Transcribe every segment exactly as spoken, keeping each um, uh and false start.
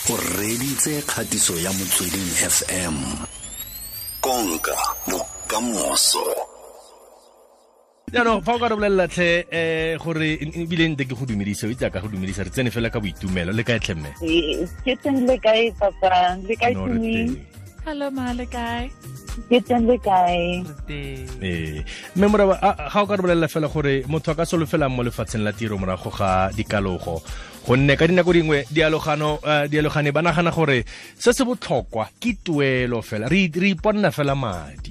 o reditse kgatiso ya Motsweding F M. Konka bokamoso. Ya no, fa o ka re bolelela tlhe eh gore ebile nte ke go dumedisa o itse ka go dumedisa re tsene fela ka boitumelo le kae tlhemme ke tsene le kae papa le kae tumi hello ma le kae ke tsene le kae eh me mora ga o ka re bolelela fela gore motho a ka solofela mo lefatsheng la tiro morago ga dikalogo gonne ka dinako dingwe dialogano dialogane ba nagana gore se se botlhokwa ke tuelo fela re re iponna fela madi.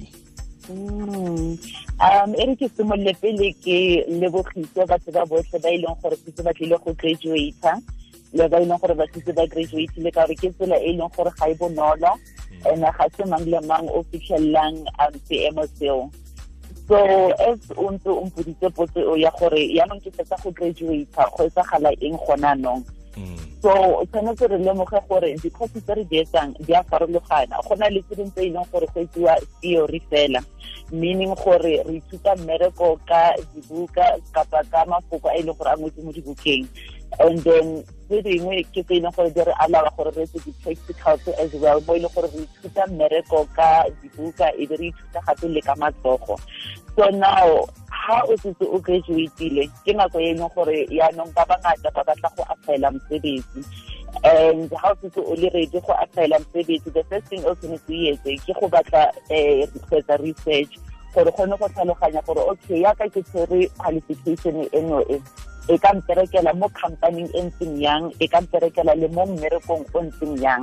Mm. Um, e re ke simolole pele ke lebogise batho ba botlhe ba e leng gore se ba tlile go graduata le ba e leng gore ba se ba graduate le ka re ke tsela e leng gore ga e bonolo and ga se mang le mang o fitlhellang um seemo seo. So as unto o mpoditse potse o ya gore yaanong ke fetsa go graduata go etsa gala eng gona nong. So o tshwanetse re lemoge gore di-course tse re di etsang di a farologana go na le tse dingwe tse e leng gore go etsiwa theory fela, meaning gore re ithuta mmereko ka dibuka kapa ka mafoko a e leng gore a ngwetse mo dibukeng, and then tse dingwe ke tse e leng gore di re alawa gore re etse di-practicals as well mo e leng gore re ithuta mmereko ka dibuka e be re ithuta gape le ka matsogo. So now ha o setse o graduate-ile ke nako e leng gore yaanong ba bangata ba batla go apply-ela mosebetsi, and ha o setse o le ready go apply-ela mosebetsi the first thing o tshwanetse o etse ke go batla eh further research gore kgone go tlhaloganya gore okay ya ka ke tshwere qualification eno e e ka mperekela mo company e ntseng yang e ka mperekela le mo mmerekong o ntseng yang.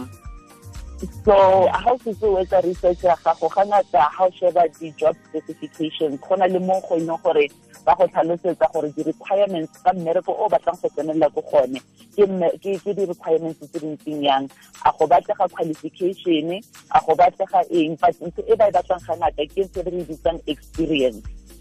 So how to do with the research ya gago ga ngata how sheba di job specifications gona le mo go ino gore ba go tlhalosetsa gore di requirements ka mmereko o batlang go tsenela go gone ke ke di requirements tse dintseng yang a go batlega qualification a go batlega eng but ntse e ba batlang ga ngata ke se re bitsang experience.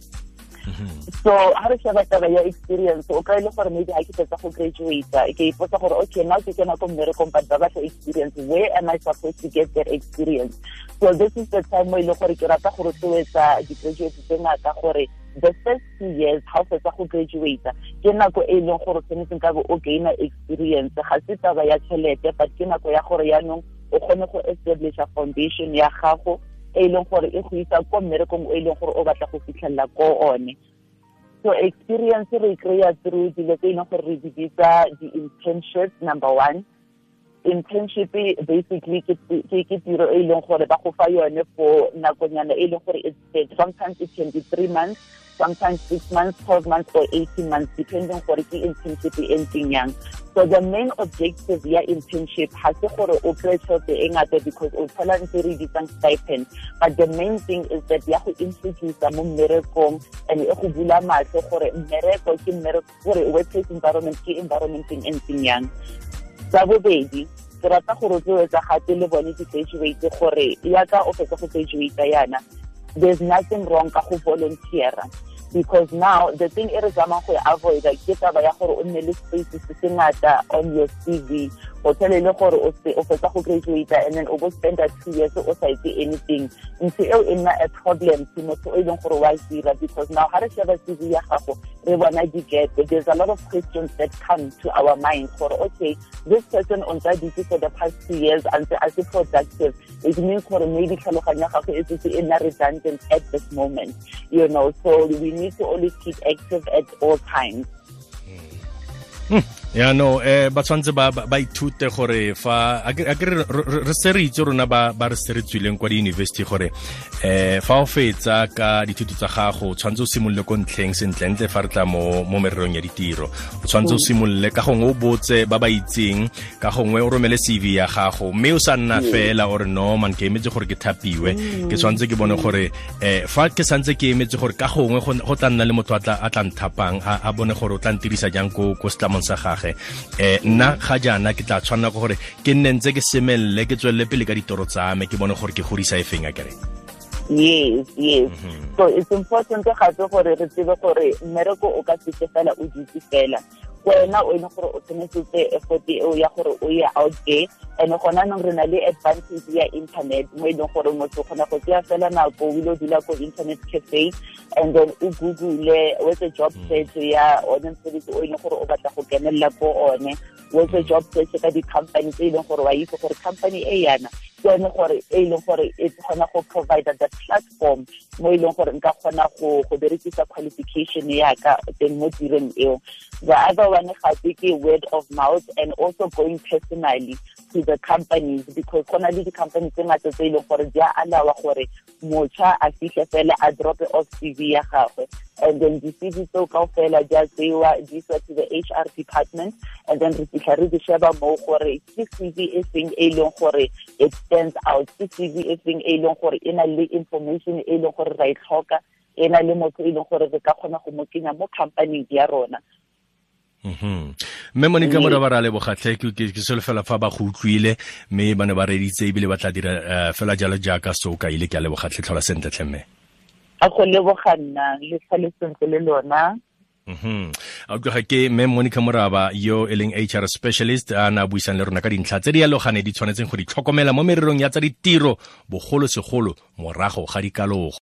So ha re sheba taba ya experience o ka ile gore maybe ha ke fetsa go graduate ke ipotsa gore okay now ke kena go mmerekong but ba batla experience, where am I supposed to get that experience? So this is the time where ile gore ke rata gore tsoetsa di-graduate tse ngata gore the first two years ha o fetsa go graduate ke nako e leng gore tshwanetse ka bo o gaina experience ga se taba ya tšhelete but ke nako ya gore yaanong o kgone go establish a foundation ya gago e leng gore e go isa ko mmerekong e leng gore o batla go fitlhella ko one. So experience re kry-a through dilo tse e leng gore re di bitsa di-internship. Number one, internship basically ke ke tiro e leng gore ba go fa yone for nakonyana e leng gore it's sometimes it can be three months, sometimes six months, twelve months or eighteen months depending gore ke internship e ntseng yang. So the main objective ya internship has to gore o kry tšhelete e ngata because o thola ntse re bitsang stipend, but the main thing is that ya go introduce mo mmerekong and e go bula matlho gore mmereko ke mmereko gore workplace environment ke environment e ntseng yang. Sa bobedi ke rata gore o etsa gape le bone di-graduate gore ya ka o fetsa go graduate yana there's nothing wrong ka go volunteer, because now the thing e re zamang go avoid ke taba ya gore o nne le space se se ngata on your C V o tshele le gore o se o fetsa go graduate and then o go spend two years o sa itse anything ntse eo e nna a problem to motho e leng gore wa dira, because now ha re sheba C V ya gago re bona di get there's a lot of questions that come to our mind for okay this person on that duty for the past two years and as a productive, it means for maybe tlhaloganya gago e se e nna redundant at this moment, you know, so we need to always keep active at all times. Ya no eh ba tshwantse ba ba ithute gore fa a ke re se re itse rona ba ba re se re tswileng kwa di university gore eh fa o fetsa ka dithuto tsa gago o tshwantse o simolle ko ntlheng sentlentle fa re tla mo mo mererong ya ditiro o tshwantse o simolle ka gongwe o botse ba ba itseng ka gongwe o romele C V ya gago mme o sa nna fela or no man ke emetse gore ke thapiwe ke tshwantse ke bone gore eh fa ke santse ke emetse gore ka gongwe go tla nna le motho a tla a tla nthapang a bone gore o tla ntirisa jang ko ko stamong sa gagwe eh nna ga jana ke tla tshwana go gore ke nne ntse ke semelle ke tswelle pele ka ditoro tsa me ke bone gore ke godisa e feng a kere. Yes, yes. Mm-hmm. So it's important to have gore re tsebe gore mmereko o ka se fela o dutse fela wena o ene gore o tsenetsetse effort eo ya gore o ye out there. And gona nang re na le advantage ya internet mo e leng gore motho gona go tsaya fela nako o ile dula ko internet cafe and then o google with a job search ya one mosebetsi o ene gore o batla go kenella ko one, with a job search ka di-company tse e leng gore wa itse gore company e yana ke yone gore e leng gore e kgona go provide that platform mo e leng gore nka kgona go go berekisa qualification ya ka teng mo tireng eo. The other one gape ke word of mouth and also going personally to the companies, because kgona le di-company tse ngata tse e leng gore di a alawa gore motšha a fihle fela a drop off C V ya gagwe, and then di-C V tseo kaofela di a tseiwa di iswa to the H R department, and then re fitlha re di sheba mo gore ke C V e feng e leng gore it stands out, ke C V e feng e leng gore e na le information e leng gore ra e tlhoka, e na le motho e leng gore re ka kgona go mo kenya mo company ya rona. Mhm. Me Monica Morabara le bogatlhe ke ke selo fela fa ba go utlwile me bana ba reditse ibile ba tla dira fela jalo jaaka so ka ile ke le bogatlhe tlhola sentle tlhemme. A go le boganna le sa le sentle le lona. Mhm. A go ke me Monica Moraba yo eleng H R specialist ana buisang le rona ka dintlha tse di yalogane di tshwanetseng go di tlhokomela mo mererong ya tsa ditiro bogolo segolo morago ga dikalogo.